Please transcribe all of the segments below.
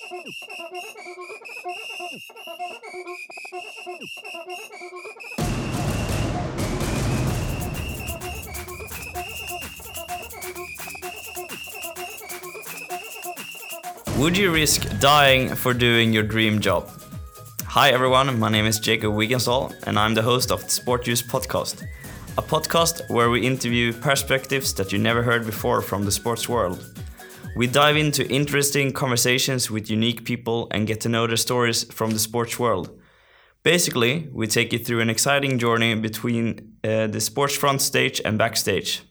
Would you risk dying for doing your dream job? Hi everyone, my name is Jacob Wiggenstall and I'm the host of the Sport Juice podcast. A podcast where we interview perspectives that you never heard before from the sports world. We dive into interesting conversations with unique people and get to know their stories from the sports world. Basically, we take you through an exciting journey between the sports front stage and backstage.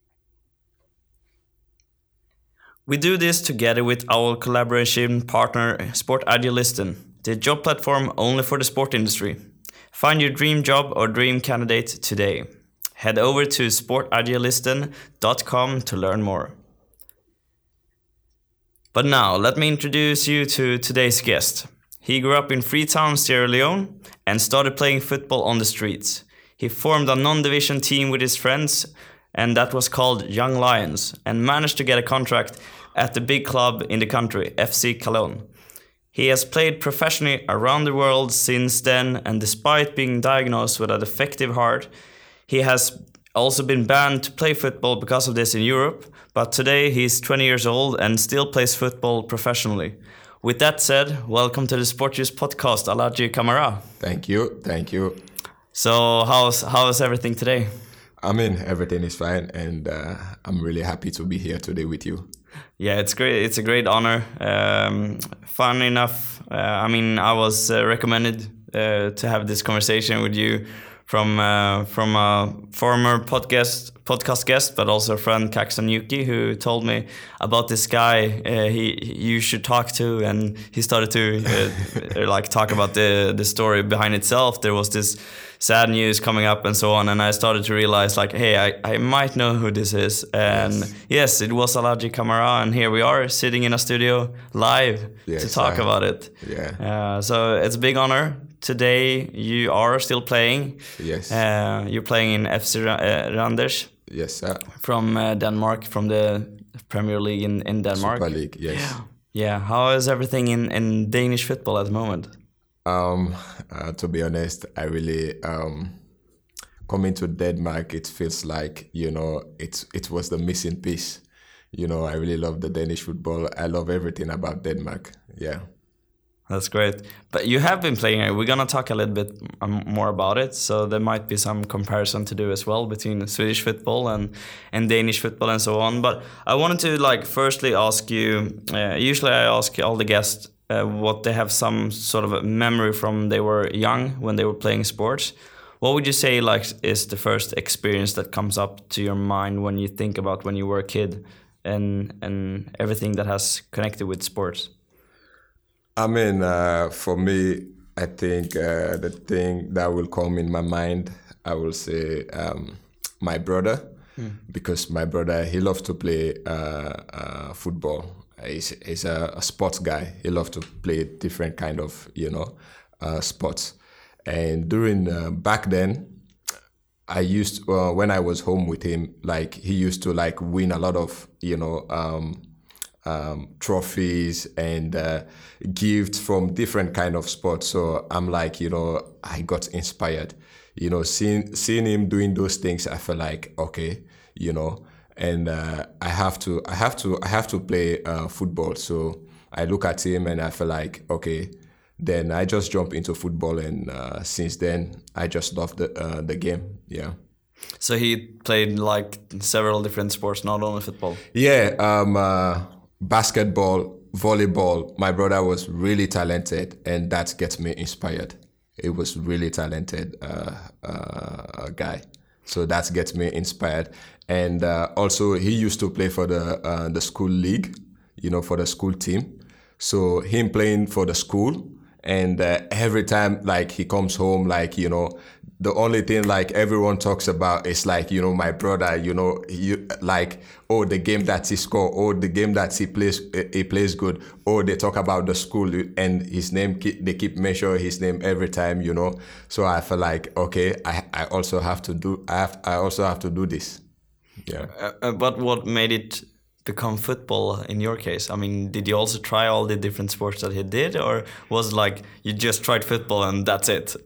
We do this together with our collaboration partner Sport Agilisten, the job platform only for the sport industry. Find your dream job or dream candidate today. Head over to sportagilisten.com to learn more. But now, let me introduce you to today's guest. He grew up in Freetown, Sierra Leone, and started playing football on the streets. He formed a non-division team with his friends, and that was called Young Lions, and managed to get a contract at the big club in the country, FC Cologne. He has played professionally around the world since then, and despite being diagnosed with a defective heart, he has also been banned to play football because of this in Europe, but today he's 20 years old and still plays football professionally. With that said, welcome to the Sport Juice podcast, Aladji Camara. Thank you. So how's everything today? I mean, everything is fine, and I'm really happy to be here today with you. Yeah, it's great. It's a great honor. Fun enough. I was recommended to have this conversation with you from a former podcast guest, but also a friend, Kaxon Yuki, who told me about this guy you should talk to, and he started to talk about the story behind itself. There was this sad news coming up and so on, and I started to realize hey, I might know who this is, and yes, it was Aladji Camara, and here we are sitting in a studio live to talk about it. So it's a big honor. Today you are still playing. Yes. You're playing in FC Randers. Yes, sir. From Denmark, from the Premier League in Denmark. Super League, yes. Yeah. How is everything in Danish football at the moment? To be honest, I really coming to Denmark. It feels like it was the missing piece. I really love the Danish football. I love everything about Denmark. Yeah. That's great. But you have been playing. We're going to talk a little bit more about it. So there might be some comparison to do as well between Swedish football and Danish football and so on. But I wanted to firstly ask you, usually I ask all the guests what they have some sort of a memory from they were young when they were playing sports. What would you say is the first experience that comes up to your mind when you think about when you were a kid and everything that has connected with sports? I mean, for me, I think the thing that will come in my mind, I will say my brother, because my brother, he loves to play football. He's a sports guy. He loves to play different kind of, sports. And during back then, I used when I was home with him, he used to win a lot of, trophies and gifts from different kind of sports. So I'm I got inspired, seeing him doing those things. I feel like, okay, and I have to play football. So I look at him and I feel like, okay, then I just jump into football, and since then I just love the game. Yeah. So he played several different sports, not only football. Yeah. Basketball, volleyball. My brother was really talented, and that gets me inspired. He was really talented guy, so that gets me inspired. And also, he used to play for the school league, for the school team. So him playing for the school, and every time he comes home, the only thing everyone talks about is my brother, the game that he scored, the game that he plays good, they talk about the school and his name, they keep mentioning his name every time, So I feel like, okay, I also have to do this. Yeah. But what made it become football in your case? I mean, did you also try all the different sports that he did, or was it like you just tried football and that's it?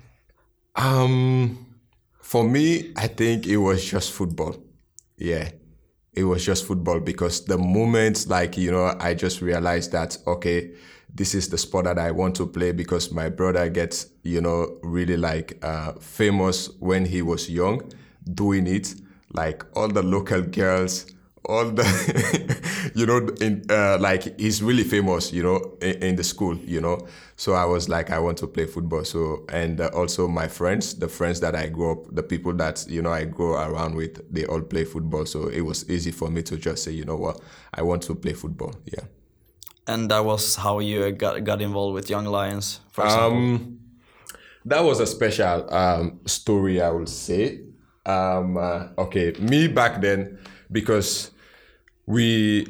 For me, I think it was just football. Yeah, it was just football because the moment, like, you know, I just realized that, okay, this is the sport that I want to play because my brother gets, you know, really like famous when he was young doing it. Like all the local girls, all the, you know, like he's really famous, you know, in the school, you know. So I was like, I want to play football. So, and also my friends, the friends that I grew up, the people that, you know, I grew around with, they all play football. So it was easy for me to just say, you know what, I want to play football. Yeah. And that was how you got involved with Young Lions, for example? That was a special story, I would say. Okay, me back then, because we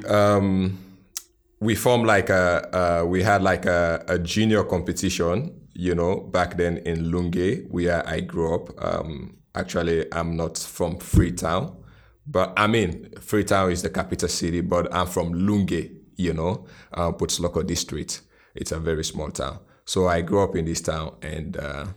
formed like we had like a junior competition, you know, back then in Lunge, where I grew up. Actually, I'm not from Freetown, but I mean, Freetown is the capital city, but I'm from Lunge, you know, Putzloko district. It's a very small town. So I grew up in this town and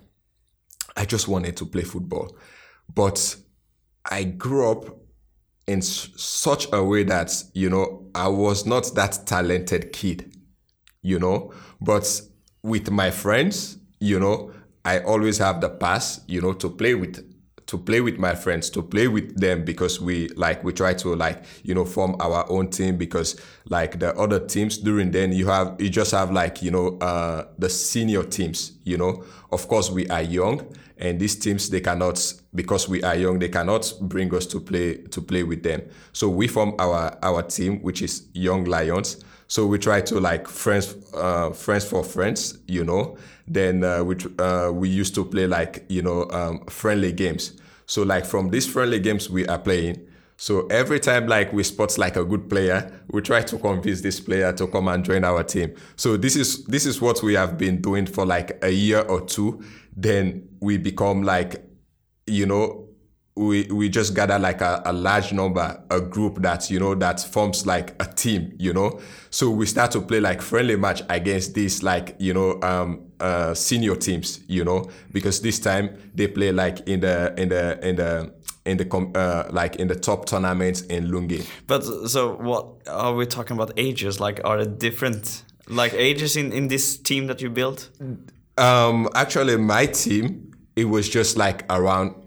I just wanted to play football. But I grew up in such a way that, you know, I was not that talented kid, you know, but with my friends, you know, I always have the pass, you know, to play with my friends, to play with them, because we try to, like, you know, form our own team, because like the other teams during then you just have like, you know, the senior teams, you know. Of course we are young, and these teams, they cannot, because we are young, they cannot bring us to play with them. So we form our team, which is Young Lions. So we try to like friends for friends, you know. Then we used to play like, you know, friendly games. So like from these friendly games we are playing, so every time like we spot like a good player, we try to convince this player to come and join our team. So this is what we have been doing for like a year or two. Then we become like, you know, we just gather like a large number, a group that, you know, that forms like a team, you know. So we start to play like friendly match against these like, you know, senior teams, you know, because this time they play like in the like in the top tournaments in Lungi. But so what are we talking about ages? Like, are there different like ages in this team that you built? Actually my team, it was just like around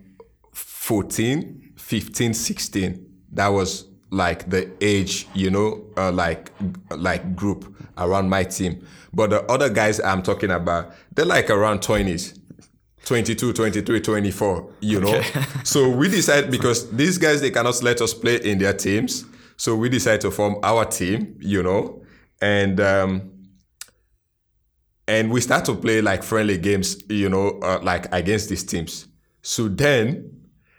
14, 15, 16. That was like the age, you know, like group around my team. But the other guys I'm talking about, they're like around 20s, 22, 23, 24, you know. Okay. So we decided, because these guys, they cannot let us play in their teams. So we decided to form our team, you know, and we start to play like friendly games, you know, like against these teams. So then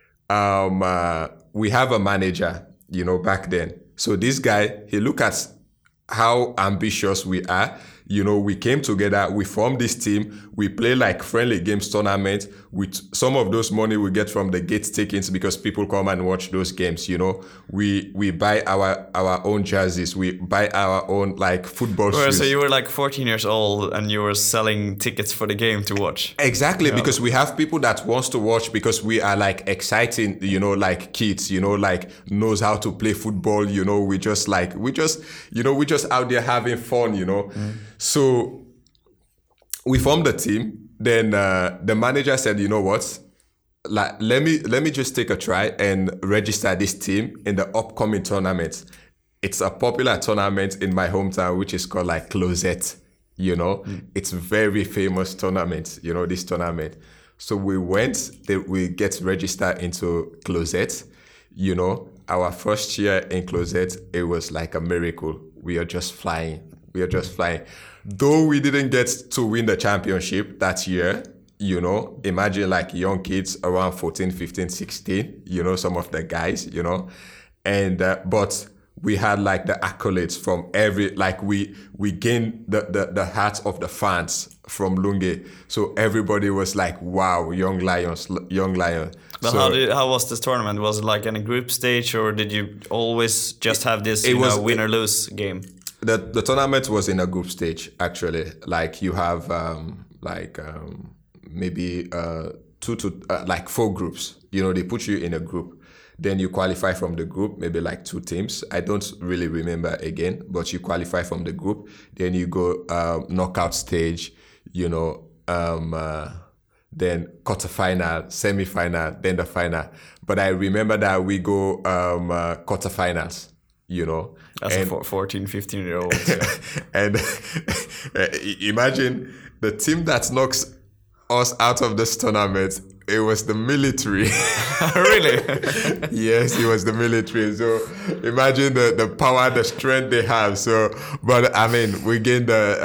we have a manager, you know, back then. So this guy, he look at how ambitious we are. You know, we came together, we formed this team, we play like friendly games tournament with some of those money we get from the gate tickets, because people come and watch those games, you know. We buy our own jerseys, we buy our own like football shoes. So you were like 14 years old and you were selling tickets for the game to watch. Exactly, because we have people that wants to watch, because we are like exciting, you know, like kids, you know, like knows how to play football, you know. We just out there having fun, you know. So we formed the team. Then the manager said, you know what, like, let me just take a try and register this team in the upcoming tournament. It's a popular tournament in my hometown, which is called like Closet, you know. It's very famous tournament, you know, this tournament. So we we get registered into Closet, you know. Our first year in Closet, it was like a miracle. We are just flying. Though we didn't get to win the championship that year, you know, imagine like young kids around 14, 15, 16, you know, some of the guys, you know, and but we had like the accolades from every, like we gained the hearts of the fans from Lunge. So everybody was like, wow, young lions. But So how was this tournament? Was it like in a group stage, or did you always just have this win or lose game? The tournament was in a group stage, actually. Like you have maybe 2 to like 4 groups. You know, they put you in a group. Then you qualify from the group, maybe like 2 teams. I don't really remember again, but you qualify from the group. Then you go knockout stage, you know, then quarterfinal, semi-final, then the final. But I remember that we go quarterfinals, you know. As a 14, 15-year-old. Yeah. And imagine the team that knocks us out of this tournament, it was the military. Really? Yes, it was the military. So imagine the power, the strength they have. So, but I mean, we gained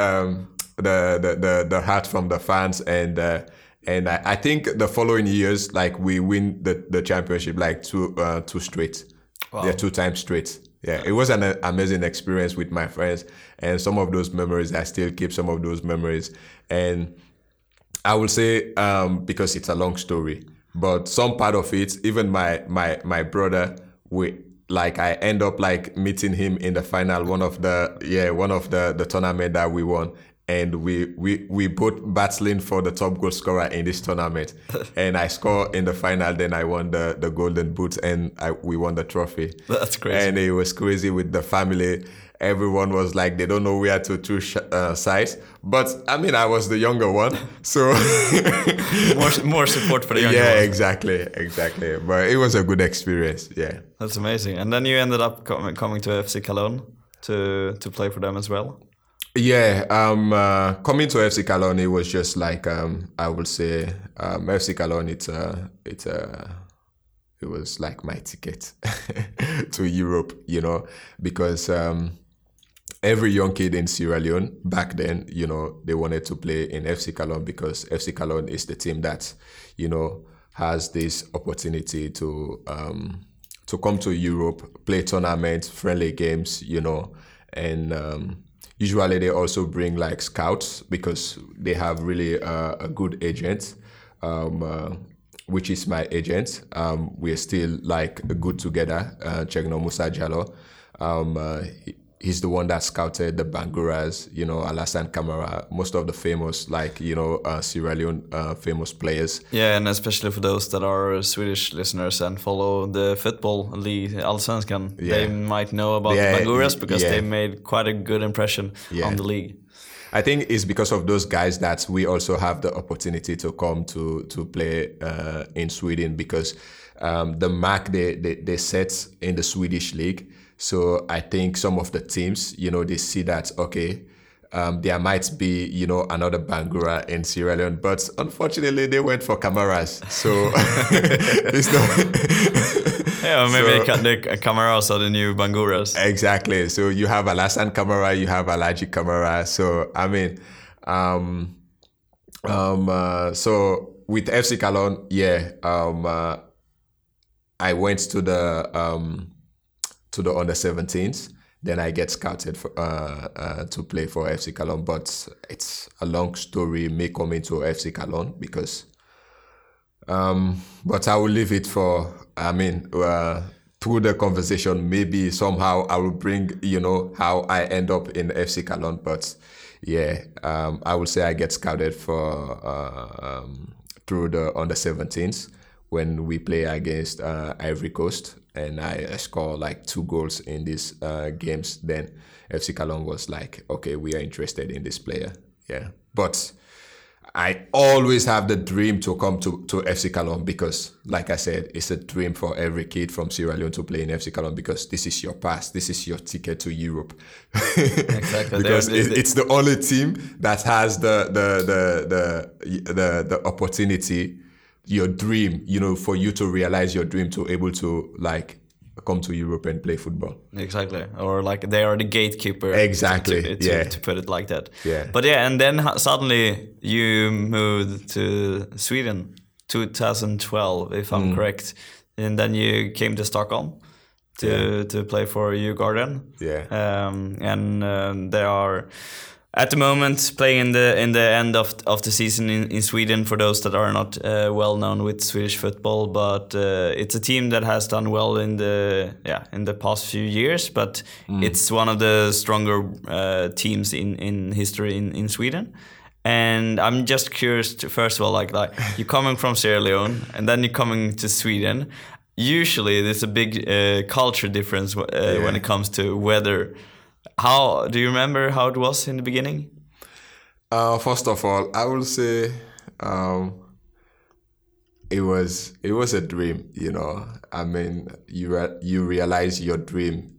the heart from the fans, and I think the following years, like we win the championship like two straight. Wow. Yeah, 2 times straight. Yeah, it was an amazing experience with my friends, and some of those memories, I still keep some of those memories. And I will say, because it's a long story, but some part of it, even my brother, I end up like meeting him in the final, one of the tournament that we won. And we both battling for the top goal scorer in this tournament. And I scored in the final, then I won the golden boot, and we won the trophy. That's crazy. And it was crazy with the family. Everyone was like, they don't know where to choose sides. But I mean, I was the younger one, so more support for the younger yeah, ones. exactly. But it was a good experience. Yeah, that's amazing. And then you ended up coming to FC Cologne to play for them as well. Yeah, coming to FC Cologne, it was just like I would say FC Cologne. It was like my ticket to Europe, you know, because every young kid in Sierra Leone back then, you know, they wanted to play in FC Cologne because FC Cologne is the team that, you know, has this opportunity to come to Europe, play tournaments, friendly games, you know, and usually they also bring like scouts because they have really a good agent, which is my agent. We're still like good together. Chegno Musa Jallo. He's the one that scouted the Banguras, you know, Alassane Camara, most of the famous, like, you know, Sierra Leone famous players. Yeah, and especially for those that are Swedish listeners and follow the football league, Allsvenskan, they might know about the Banguras because they made quite a good impression on the league. I think it's because of those guys that we also have the opportunity to come to play in Sweden because the mark they set in the Swedish league. So I think some of the teams, you know, they see that, okay, there might be, you know, another Bangura in Sierra Leone, but unfortunately they went for Camaras. So it's not... Yeah, maybe the Camaras are the new Banguras. Exactly. So you have Alassane Camara, you have Alaji Camara. So, I mean, so with FC Cologne, I went to the under 17s. Then I get scouted for, to play for FC Cologne. But it's a long story, me coming to FC Cologne because... but I will leave it for, I mean, through the conversation, maybe somehow I will bring, you know, how I end up in FC Cologne. But yeah, I will say I get scouted for through the under 17s when we play against Ivory Coast. And I score like 2 goals in these games. Then FC Cologne was like, okay, we are interested in this player. Yeah. But I always have the dream to come to FC Cologne because, like I said, it's a dream for every kid from Sierra Leone to play in FC Cologne because this is your pass, this is your ticket to Europe. Exactly. Because it's the only team that has the opportunity, your dream, you know, for you to realize your dream to able to like come to Europe and play football. Exactly. Or like they are the gatekeeper. Exactly. To put it like that. Yeah. But yeah, and then suddenly you moved to Sweden, 2012, if I'm correct. And then you came to Stockholm. to play for Djurgården. Yeah. And they are at the moment playing in the end of the season in Sweden, for those that are not well known with Swedish football. But it's a team that has done well in the past few years, but it's one of the stronger teams in history in Sweden. And I'm just curious to, first of all, like you're coming from Sierra Leone and then you're coming to Sweden. Usually there's a big culture difference when it comes to weather. How do you remember how it was in the beginning? First of all, I will say it was a dream. You know, I mean, you realize your dream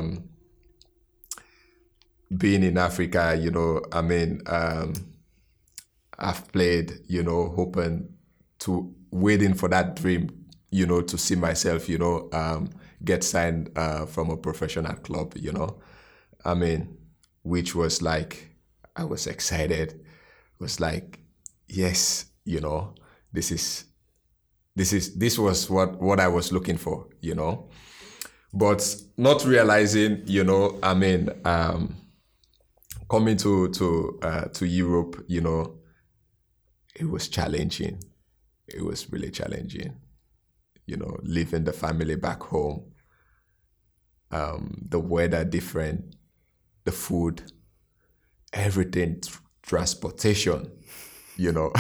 being in Africa. You know, I mean, I've played. You know, waiting for that dream. You know, to see myself. You know, get signed from a professional club. You know. I mean, which was like, I was excited. It was like, yes, you know, this was what I was looking for, you know, but not realizing, you know, I mean, coming to Europe, you know, it was challenging. It was really challenging, you know, leaving the family back home, the weather different, the food, everything, transportation, you know.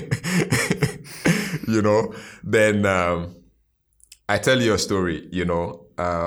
You know, then I tell you a story, you know.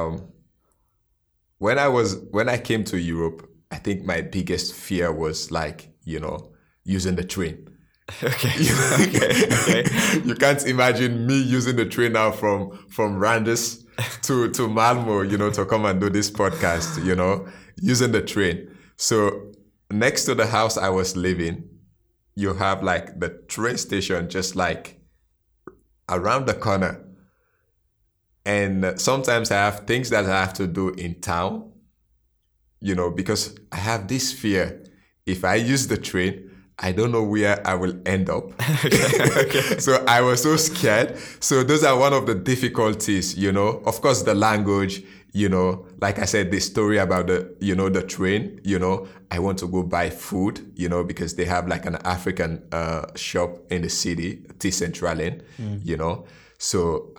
When I came to Europe, I think my biggest fear was like, you know, using the train. Okay. Okay. You can't imagine me using the train now from Randers to Malmo, you know, to come and do this podcast, you know, using the train. So next to the house I was living, you have like the train station just like around the corner. And sometimes I have things that I have to do in town, you know, because I have this fear. If I use the train, I don't know where I will end up. Okay. So I was so scared. So those are one of the difficulties, you know. Of course, the language, you know, like I said, the story about the train, you know, I want to go buy food, you know, because they have like an African shop in the city, T-Centralen, you know. So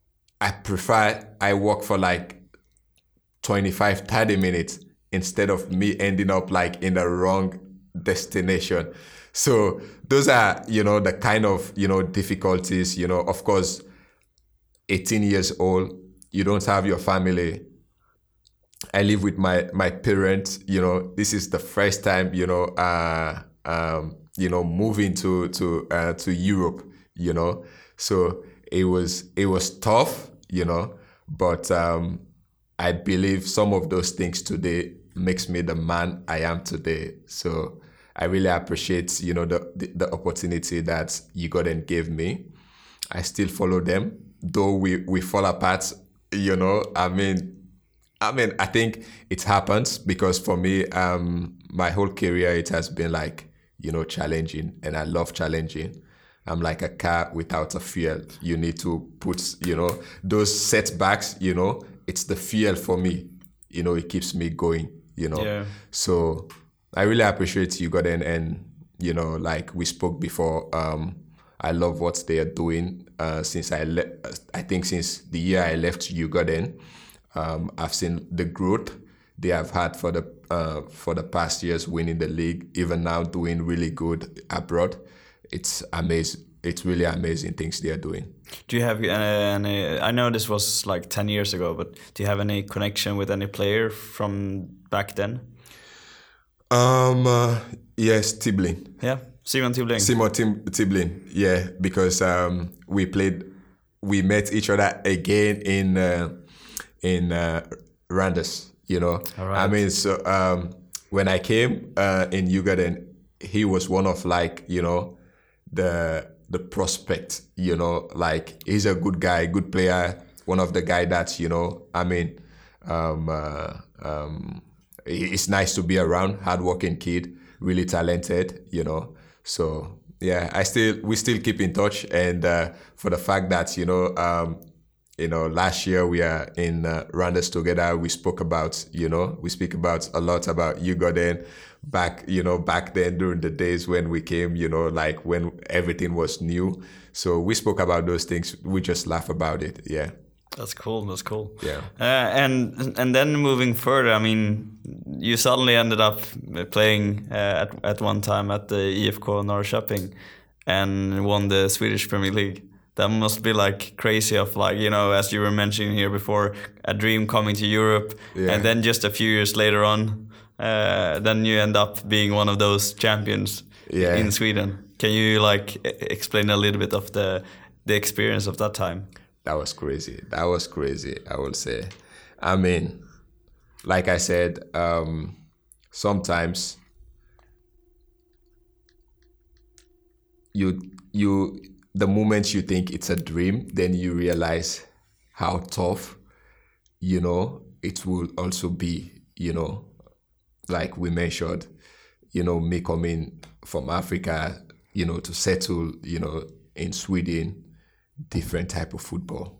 I walk for like 25, 30 minutes instead of me ending up like in the wrong destination. So those are, you know, the kind of, you know, difficulties, you know. Of course, 18 years old, you don't have your family. I live with my parents, you know. This is the first time, you know, moving to Europe, you know. So it was tough, you know, but I believe some of those things today makes me the man I am today. So I really appreciate, you know, the opportunity that Djurgården gave me. I still follow them, though we fall apart, you know. I mean, I think it happens because for me, my whole career, it has been like, you know, challenging, and I love challenging. I'm like a car without a fuel. You need to put, you know, those setbacks, you know, it's the fuel for me. You know, it keeps me going, you know. Yeah. So I really appreciate Djurgården, and, you know, like we spoke before, I love what they are doing since I think since the year I left Djurgården. I've seen the growth they have had for the past years, winning the league, even now doing really good abroad. It's amazing. It's really amazing things they are doing. Do you have any? I know this was like 10 years ago, but do you have any connection with any player from back then? Yes, Tiblin. Yeah, Simon Tiblin. Tiblin. Yeah, because we met each other again in Randers. You know, right. I mean, so when I came in Djurgården, he was one of, like, you know, the prospect, you know, like he's a good guy, good player, one of the guy that, you know, I mean, it's nice to be around, hardworking kid, really talented, you know. So yeah, we still keep in touch, and for the fact that, you know, last year we are in Randers together. We spoke about, we speak about a lot about Ugoden back then during the days when we came, like when everything was new. So we spoke about those things. We just laugh about it. Yeah. That's cool. That's cool. Yeah. And then moving further, I mean, you suddenly ended up playing at one time at the IFK Norrköping and won the Swedish Premier League. That must be like crazy of like, as you were mentioning here before, a dream coming to Europe. Yeah. And then just a few years later on, then you end up being one of those champions in Sweden. Can you like explain a little bit of the experience of that time? That was crazy. I will say. I mean, like I said, sometimes the moment you think it's a dream, then you realize how tough, it will also be, like we mentioned, me coming from Africa, to settle, in Sweden, different type of football.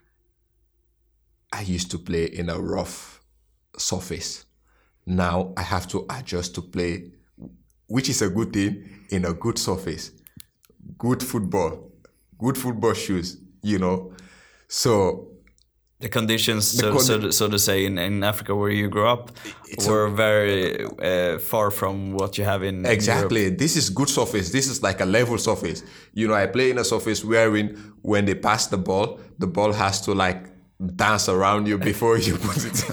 I used to play in a rough surface. Now I have to adjust to play, which is a good thing, in a good surface. Good football shoes, So the conditions, so to say, in Africa where you grew up, were very far from what you have in exactly. Europe. This is good surface. This is like a level surface. I play in a surface wherein when they pass the ball has to like dance around you before you put it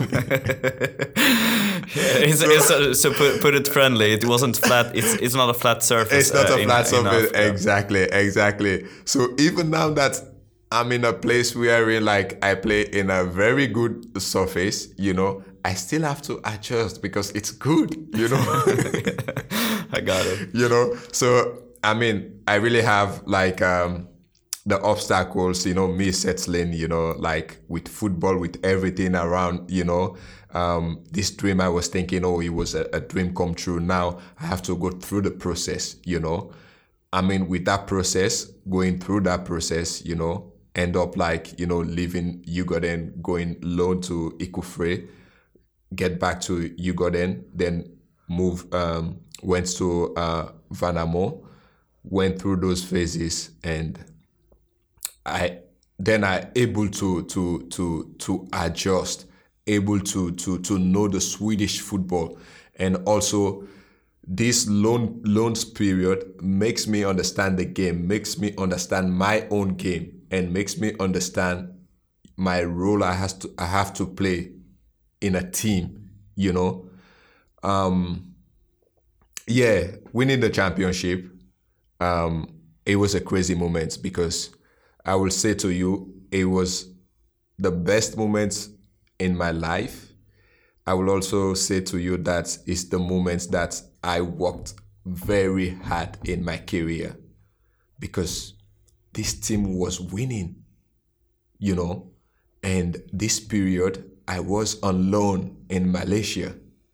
in. So put it friendly. It wasn't flat. It's not a flat surface. It's not a flat surface. Africa. Exactly. So even now that I'm in a place where like I play in a very good surface, I still have to adjust because it's good, I got it. So I mean, I really have like the obstacles, me settling, like with football, with everything around, this dream I was thinking, it was a dream come true. Now I have to go through the process, I mean, with that process, going through that process, end up like, leaving Ugoden, going loan to Ikufre, get back to Ugoden, then went to Vanamo, went through those phases, and I able to adjust, able to know the Swedish football, and also this loans period makes me understand the game, makes me understand my own game, and makes me understand my role I have to play in a team, winning the championship, it was a crazy moment because I will say to you, it was the best moment in my life. I will also say to you that it's the moments that I worked very hard in my career because this team was winning, and this period I was on loan in Malaysia.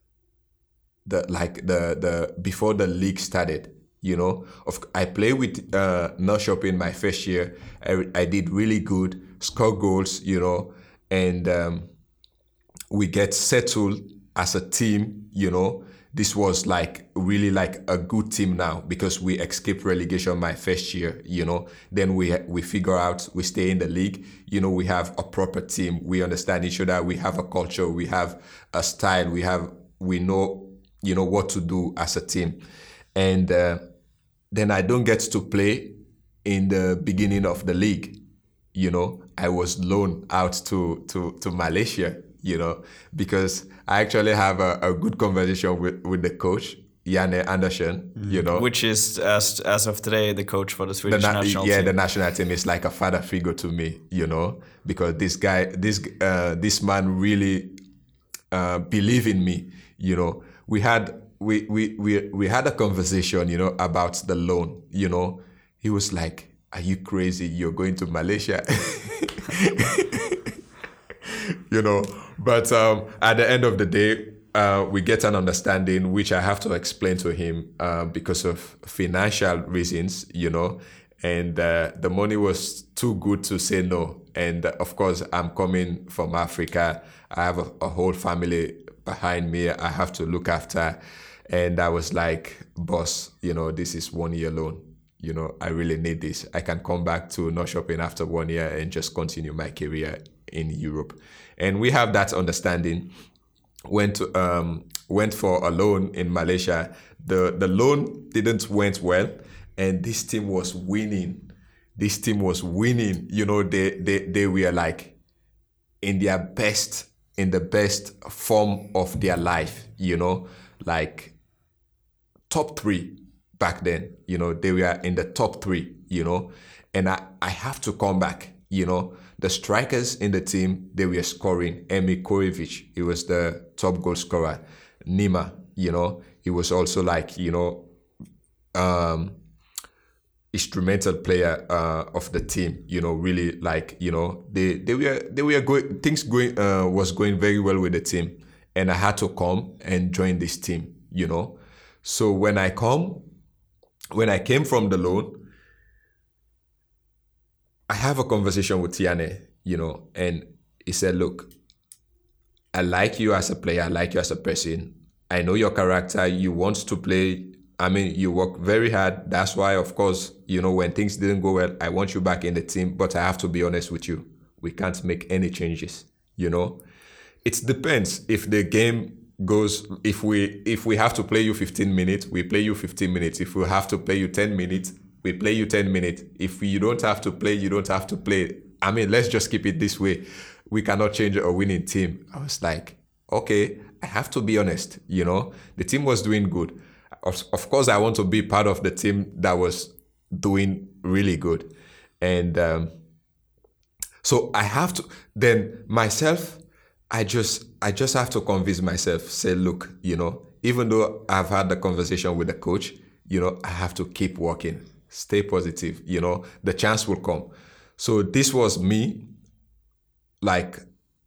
Before the league started, I played with Norrköping in my first year. I did really good, score goals, and we get settled as a team, This was like really like a good team now because we escaped relegation my first year, Then we figure out, we stay in the league, we have a proper team. We understand each other. We have a culture. We have a style. We know, what to do as a team. And then I don't get to play in the beginning of the league. I was loaned out to Malaysia, because I actually have a good conversation with the coach, Janne Andersson, Which is, as of today, the coach for the Swedish national team. Yeah, the national team is like a father figure to me, because this man really believe in me, We had a conversation, about the loan, He was like, "Are you crazy? You're going to Malaysia?" But at the end of the day, we get an understanding, which I have to explain to him because of financial reasons, and the money was too good to say no. And of course, I'm coming from Africa. I have a whole family behind me I have to look after. And I was like, boss, this is 1 year loan. I really need this. I can come back to Norrköping after 1 year and just continue my career in Europe. And we have that understanding. Went for a loan in Malaysia. The loan didn't went well, and this team was winning. They were like in the best form of their life, like top 3 back then, they were in the top 3, and I have to come back, the strikers in the team, they were scoring. Emir Korivic, he was the top goal scorer. Nima, he was also like, instrumental player of the team, really like, they were going, things was going very well with the team. And I had to come and join this team, So when I came from the loan, I have a conversation with Tiane, and he said, look, I like you as a player. I like you as a person. I know your character. You want to play. You work very hard. That's why, of course, when things didn't go well, I want you back in the team. But I have to be honest with you. We can't make any changes, It depends. If the game goes, if we have to play you 15 minutes, we play you 15 minutes. If we have to play you 10 minutes, we play you 10 minutes. If you don't have to play, you don't have to play. Let's just keep it this way. We cannot change a winning team. I was like, okay, I have to be honest. The team was doing good. Of course, I want to be part of the team that was doing really good. And so I have to, then myself, I just have to convince myself, say, look, even though I've had the conversation with the coach, I have to keep working, stay positive, the chance will come. So this was me, like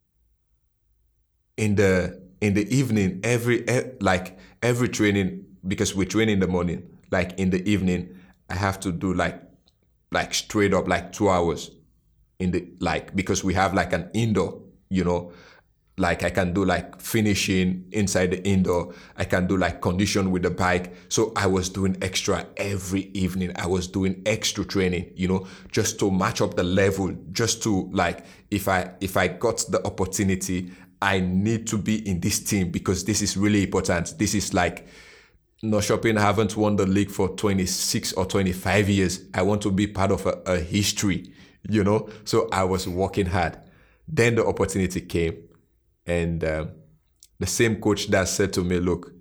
in the evening, every training, because we train in the morning, like in the evening, I have to do like straight up like 2 hours because we have like an indoor, like I can do like finishing inside the indoor. I can do like condition with the bike. So I was doing extra every evening. I was doing extra training, just to match up the level, just to like, if I got the opportunity, I need to be in this team because this is really important. This is like, Norrköping haven't won the league for 26 or 25 years. I want to be part of a history, So I was working hard. Then the opportunity came. And the same coach that said to me, look,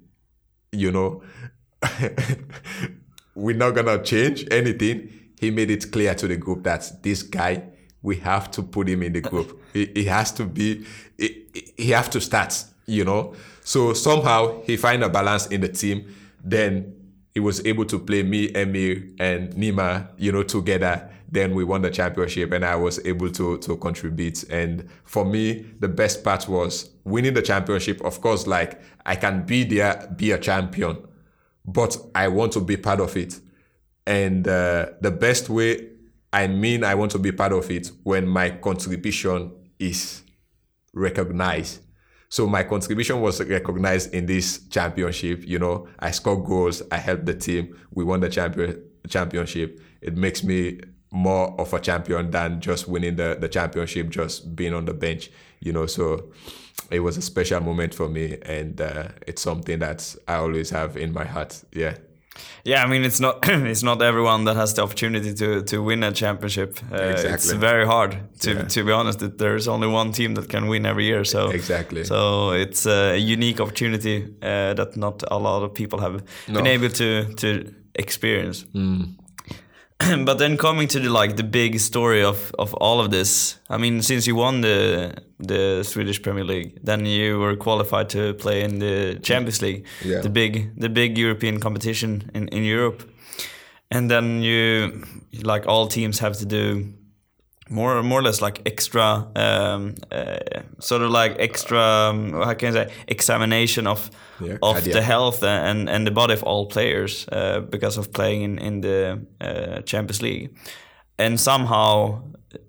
we're not going to change anything. He made it clear to the group that this guy, we have to put him in the group. He has to be, he have to start, So somehow he find a balance in the team. Then he was able to play me, Emir, and Nima, together. Then we won the championship and I was able to contribute. And for me, the best part was winning the championship. Of course, like I can be there, be a champion, but I want to be part of it. And the best way, I want to be part of it when my contribution is recognized. So my contribution was recognized in this championship. I scored goals. I helped the team. We won the championship. It makes me more of a champion than just winning the championship, just being on the bench, So it was a special moment for me, and it's something that I always have in my heart. Yeah. Yeah, it's not it's not everyone that has the opportunity to win a championship. Exactly. It's very hard to be honest. That there's only one team that can win every year. So exactly. So it's a unique opportunity that not a lot of people have been able to experience. But then coming to the big story of all of this, since you won the Swedish Premier League, then you were qualified to play in the Champions League, the big European competition in Europe, and then you, like all teams, have to do more or less like extra, sort of like extra, how can I say, examination of the health and the body of all players because of playing in the Champions League, and somehow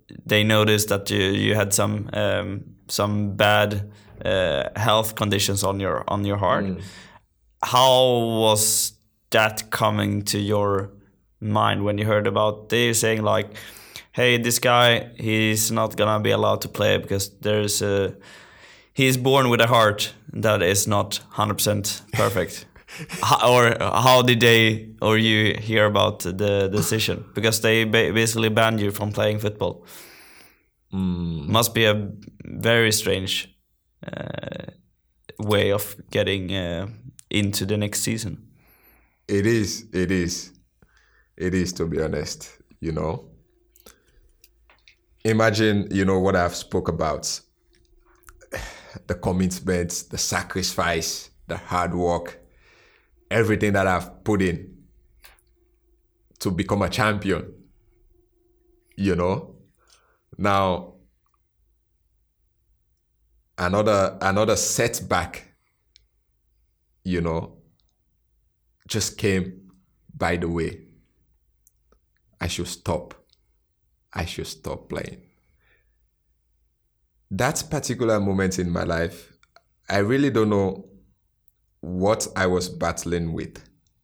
they noticed that you had some bad health conditions on your heart. How was that coming to your mind when you heard about they saying like, hey, this guy, he's not gonna be allowed to play because he's born with a heart that is not 100% perfect? How did they or you hear about the decision? Because they basically banned you from playing football. Must be a very strange way of getting into the next season. It is, to be honest, you know. Imagine, you know, what I've spoke about. The commitment, the sacrifice, the hard work, everything that I've put in to become a champion, you know. Now, another setback, you know, just came by the way. I should stop playing. That particular moment in my life, I really don't know what I was battling with.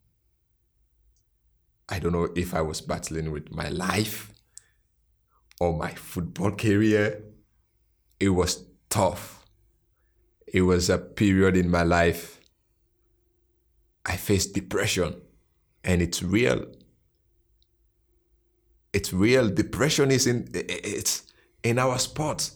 I don't know if I was battling with my life or my football career. It was tough. It was a period in my life I faced depression, and it's real. It's real. Depression is in our sport.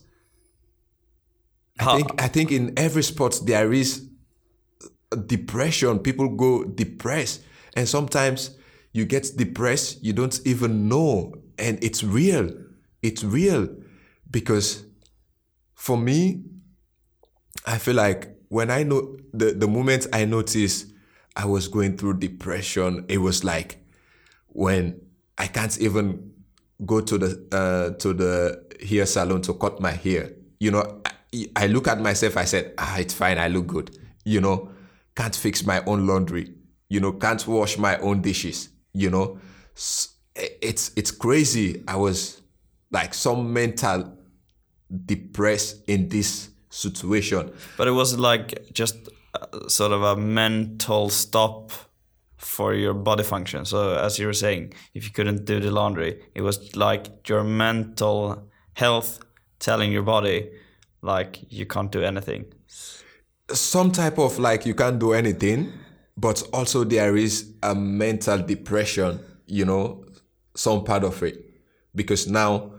I think in every sport there is depression. People go depressed, and sometimes you get depressed, you don't even know, and it's real. It's real because for me, I feel like when I know the moment I noticed I was going through depression, it was like when I can't even go to the hair salon to cut my hair. You know, I look at myself, I said, it's fine, I look good. You know, can't fix my own laundry. You know, can't wash my own dishes. You know, it's crazy. I was like some mental depressed in this situation. But it was like just sort of a mental stop for your body function. So as you were saying, if you couldn't do the laundry, it was like your mental health telling your body like you can't do anything. Some type of like you can't do anything, but also there is a mental depression, you know, some part of it. Because now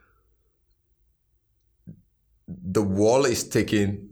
the wall is taking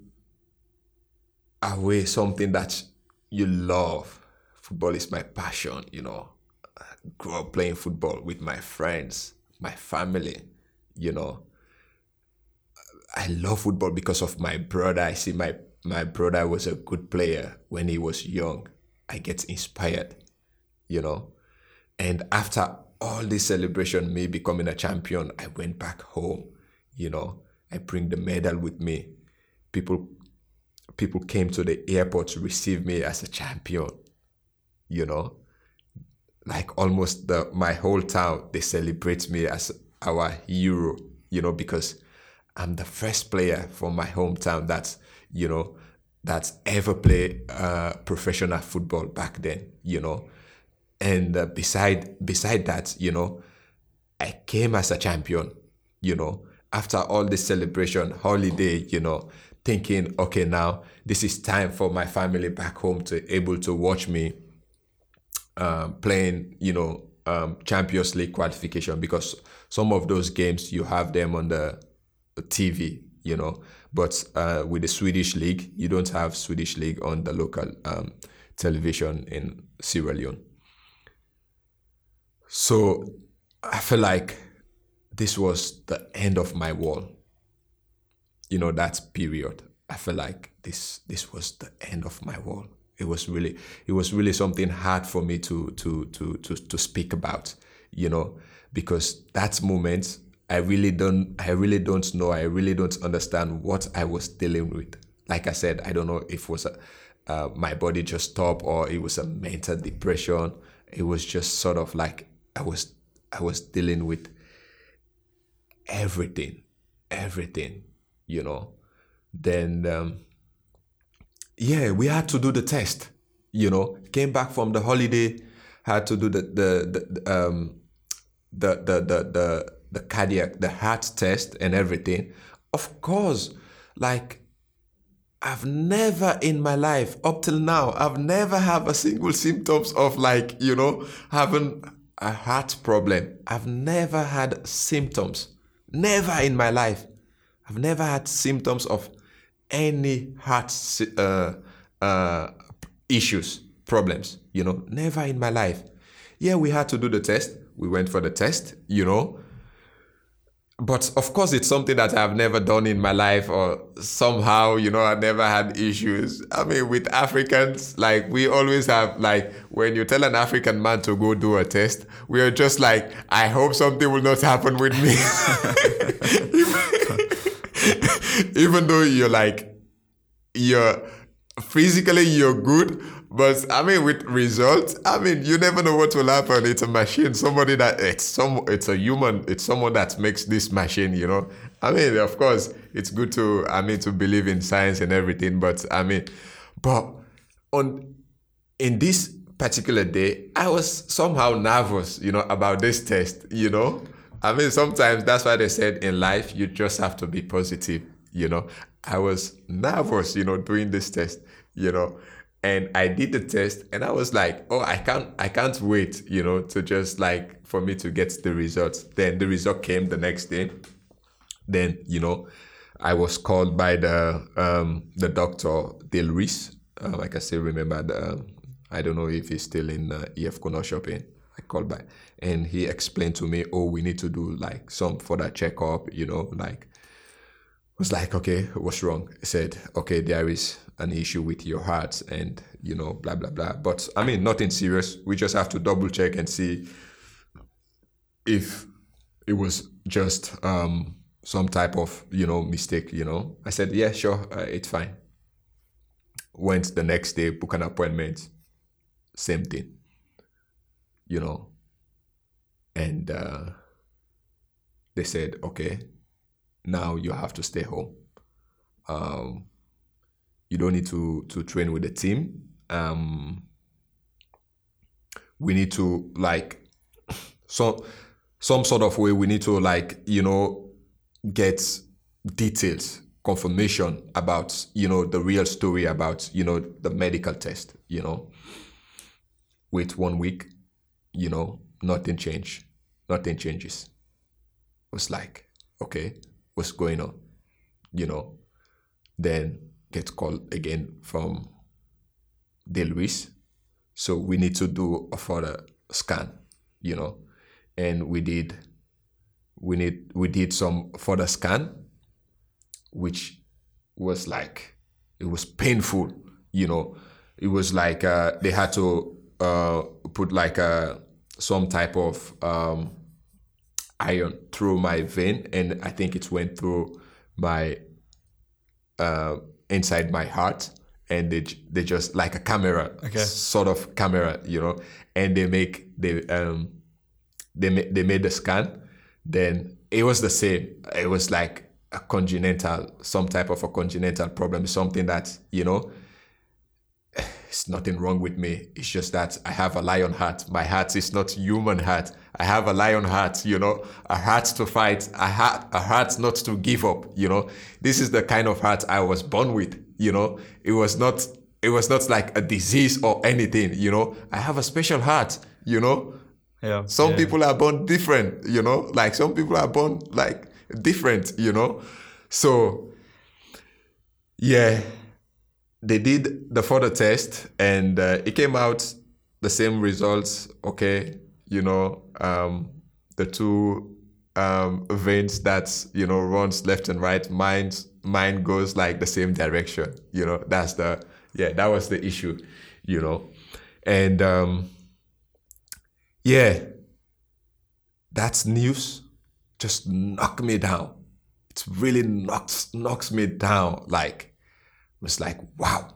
away something that you love. Football is my passion, you know. I grew up playing football with my friends, my family, you know. I love football because of my brother. I see my brother was a good player when he was young. I get inspired, you know. And after all this celebration, me becoming a champion, I went back home, you know. I bring the medal with me. People came to the airport to receive me as a champion, you know. Like almost my whole town, they celebrate me as our hero, you know, because I'm the first player from my hometown that's ever played professional football back then, you know. And beside that, you know, I came as a champion, you know, after all this celebration, holiday, you know, thinking, okay, now this is time for my family back home to able to watch me playing, you know, Champions League qualification, because some of those games you have them on the TV, you know, but with the Swedish league, you don't have Swedish league on the local television in Sierra Leone. So I feel like this was the end of my wall. You know, that period. I feel like this was the end of my wall. It was really something hard for me to speak about, you know, because that moment I really don't know. I really don't understand what I was dealing with. Like I said, I don't know if it was my body just stopped or it was a mental depression. It was just sort of like I was dealing with everything, you know. Then, yeah, we had to do the test, you know. Came back from the holiday, had to do the cardiac, the heart test and everything. Of course, like, I've never in my life, up till now, I've never had a single symptoms of, like, you know, having a heart problem. I've never had symptoms. Never in my life. I've never had symptoms of any heart issues, problems, you know. Never in my life. Yeah, we had to do the test. We went for the test, you know. But of course, it's something that I've never done in my life, or somehow, you know, I never had issues. I mean, with Africans, like, we always have, like, when you tell an African man to go do a test, we are just like, I hope something will not happen with me. Even though you're physically, you're good, but I mean, with results, I mean, you never know what will happen. It's a machine, it's a human, it's someone that makes this machine, you know. I mean, of course, it's good to believe in science and everything, but in this particular day, I was somehow nervous, you know, about this test, you know. I mean, sometimes that's why they said in life, you just have to be positive, you know. I was nervous, you know, doing this test, you know. And I did the test and I was like, oh, I can't wait, you know, to just, like, for me to get the results. Then the result came the next day. Then, you know, I was called by the doctor, Dale Reese. I can still remember I don't know if he's still in EF Corner Shopping. I called by and he explained to me, oh, we need to do, like, some further checkup, you know, like, was like, okay, what's wrong? He said, okay, there is an issue with your heart and, you know, blah, blah, blah. But I mean, nothing serious. We just have to double check and see if it was just some type of, you know, mistake, you know. I said, yeah, sure, it's fine. Went the next day, book an appointment, same thing, you know. And they said, okay, now you have to stay home. You don't need to train with the team. We need to, like, some sort of way, we need to, like, you know, get details, confirmation about, you know, the real story about, you know, the medical test, you know. Wait 1 week, you know, nothing changes. It was like, okay, what's going on, you know. Then get called again from Dale Reese. So we need to do a further scan, you know. And we did some further scan, which was like, it was painful, you know. It was like they had to put, like, some type of iron through my vein, and I think it went through my inside my heart, and they just, like a camera, okay, sort of camera, you know, and they made the scan. Then it was the same. It was like some type of a congenital problem, something that, you know, it's nothing wrong with me. It's just that I have a lion heart. My heart is not human heart. I have a lion heart, you know, a heart to fight, a heart not to give up, you know. This is the kind of heart I was born with, you know. It was not like a disease or anything, you know. I have a special heart, you know. Yeah. Some people are born different, you know. Like, some people are born, like, different, you know. So, yeah. They did the further test and it came out the same results. Okay, you know, the two veins that, you know, runs left and right, mine goes, like, the same direction. You know, that was the issue, you know. And yeah, that's news just knocked me down. It really knocks me down, like. Was like, wow.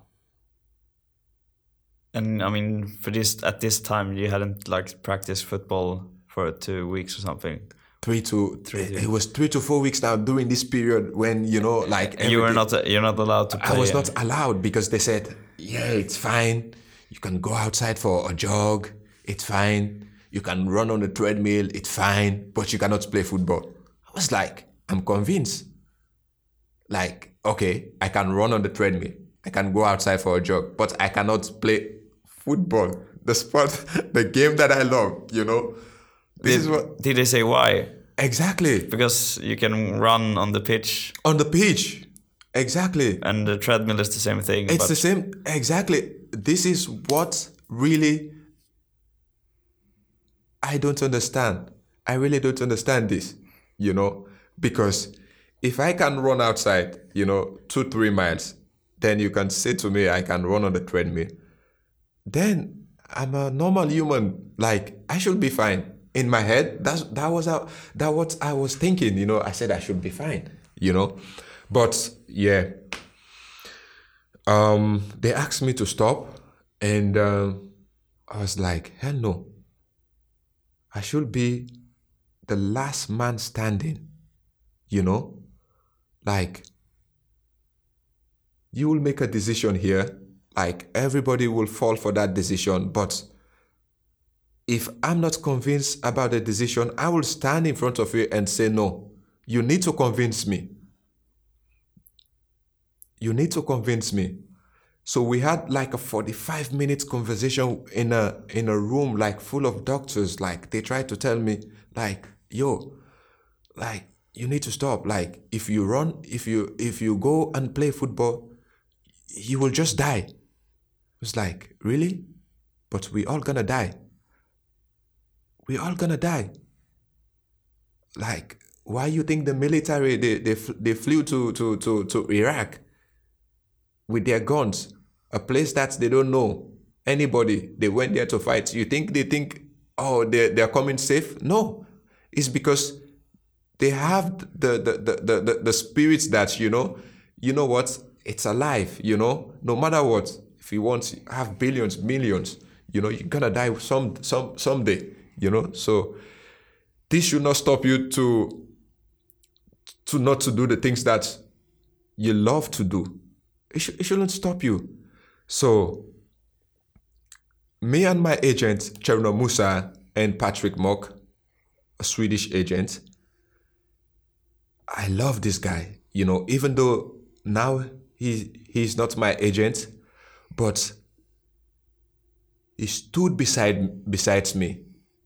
And I mean, at this time, you hadn't, like, practiced football for 2 weeks or something. It was 3 to 4 weeks now during this period when, like... And you're not allowed to play. I was not allowed because they said, yeah, it's fine. You can go outside for a jog. It's fine. You can run on the treadmill. It's fine. But you cannot play football. I was like, I'm convinced. Like, okay, I can run on the treadmill. I can go outside for a jog. But I cannot play football. The sport, the game that I love, Did they say why? Exactly. Because you can run on the pitch. On the pitch. Exactly. And the treadmill is the same thing. It's the same. Exactly. This is what really I don't understand. I really don't understand this, because if I can run outside, 2-3 miles, then you can say to me, I can run on the treadmill. Then I'm a normal human. Like, I should be fine. In my head, that was what I was thinking, I said I should be fine, But yeah, they asked me to stop, and I was like, hell no. I should be the last man standing, Like, you will make a decision here, like everybody will fall for that decision, but if I'm not convinced about the decision, I will stand in front of you and say, no, you need to convince me. You need to convince me. So we had like a 45-minute conversation in a room like full of doctors. Like, they tried to tell me, like, yo, like, you need to stop. Like, if you run, if you go and play football, you will just die. It's like, really? But we all gonna die. We're all gonna die. Like, why you think the military, they flew to Iraq with their guns, a place that they don't know anybody. They went there to fight. You think they think, oh, they're coming safe? No, it's because they have the spirits that, you know what, it's alive, no matter what. If you want to have billions, millions, you're gonna die someday. So this should not stop you to not to do the things that you love to do. It shouldn't stop you. So me and my agent, Cherno Musa, and Patrick Mock, a Swedish agent, I love this guy, even though now he's not my agent, but he stood besides me.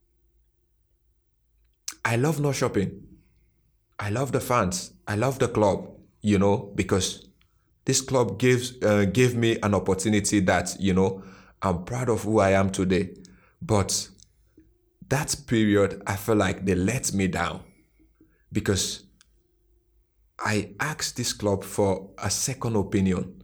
I love North Shopping. I love the fans. I love the club, because this club gave me an opportunity that, I'm proud of who I am today. But that period, I feel like they let me down because I asked this club for a second opinion.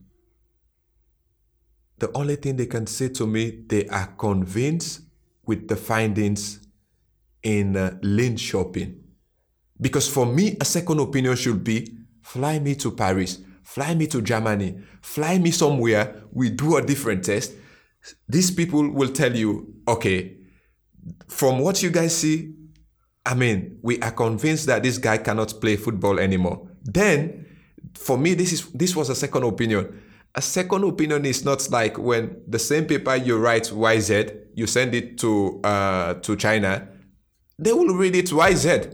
The only thing they can say to me, they are convinced with the findings in Lean Shopping. Because for me, a second opinion should be, fly me to Paris, fly me to Germany, fly me somewhere, we do a different test. These people will tell you, okay, from what you guys see, we are convinced that this guy cannot play football anymore. Then, for me, this was a second opinion. A second opinion is not like when the same paper you write YZ, you send it to China, they will read it YZ.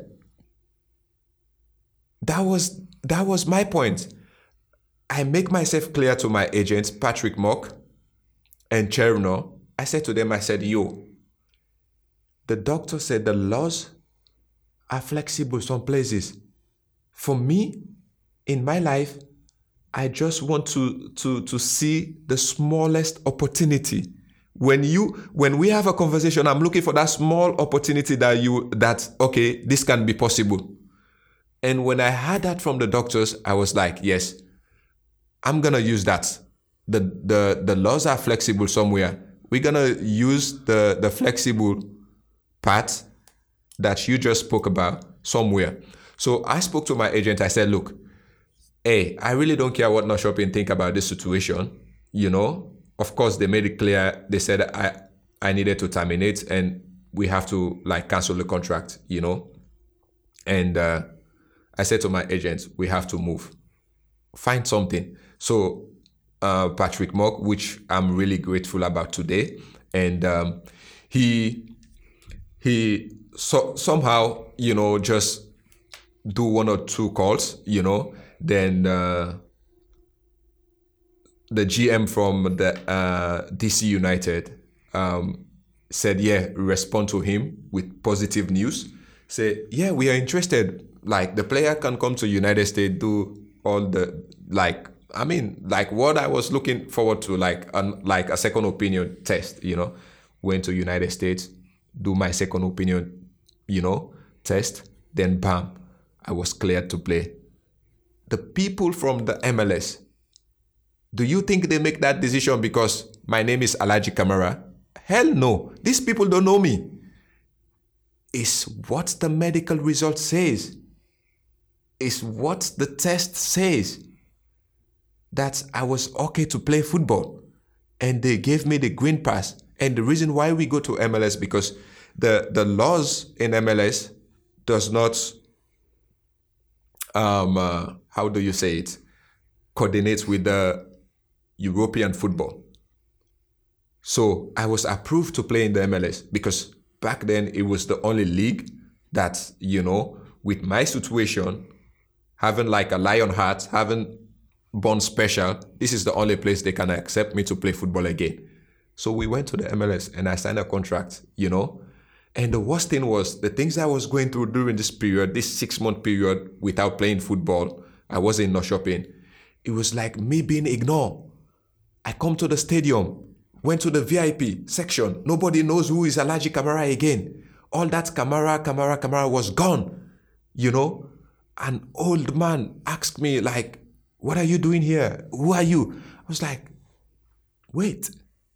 That was my point. I make myself clear to my agents, Patrick Mock and Cherno. I said to them, yo, the doctor said the laws are flexible some places. For me, in my life, I just want to see the smallest opportunity. When we have a conversation, I'm looking for that small opportunity that okay, this can be possible. And when I heard that from the doctors, I was like, yes, I'm gonna use that. The laws are flexible somewhere. We're gonna use the flexible part that you just spoke about somewhere. So I spoke to my agent. I said, look, hey, I really don't care what North Shopping think about this situation. Of course, they made it clear. They said I needed to terminate and we have to cancel the contract, And I said to my agent, we have to move, find something. So Patrick Mock, which I'm really grateful about today, and he somehow, just do one or two calls, then the GM from the DC United said, yeah, respond to him with positive news. Say, yeah, we are interested. Like, the player can come to United States, do all the, what I was looking forward to, like a second opinion test, went to United States, do my second opinion, test, then bam, I was cleared to play. The people from the MLS, do you think they make that decision because my name is Alhaji Camara? Hell no. These people don't know me. It's what the medical result says. It's what the test says. That I was okay to play football. And they gave me the green pass. And the reason why we go to MLS, because the laws in MLS does not, how do you say it, coordinate with the European football. So I was approved to play in the MLS because back then it was the only league that, with my situation, having like a lion heart, having born special, this is the only place they can accept me to play football again. So we went to the MLS and I signed a contract, And the worst thing was the things I was going through during this period, this 6-month period without playing football, I wasn't not shopping. It was like me being ignored. I come to the stadium, went to the VIP section. Nobody knows who is Alhaji Camara again. All that Camara was gone, An old man asked me, like, what are you doing here? Who are you? I was like, wait,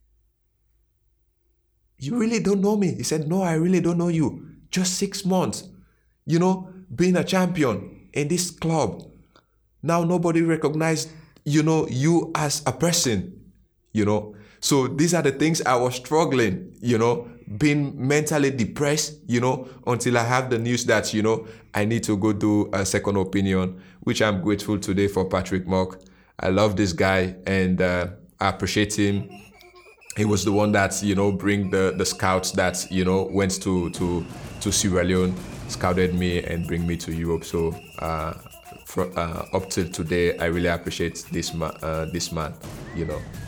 you really don't know me? He said, no, I really don't know you. Just 6 months, being a champion in this club. Now nobody recognized, you as a person, So these are the things I was struggling, being mentally depressed, until I have the news that, I need to go do a second opinion, which I'm grateful today for Patrick Mock. I love this guy and I appreciate him. He was the one that, bring the scouts that, went to Sierra Leone, scouted me and bring me to Europe. So up till today, I really appreciate this man,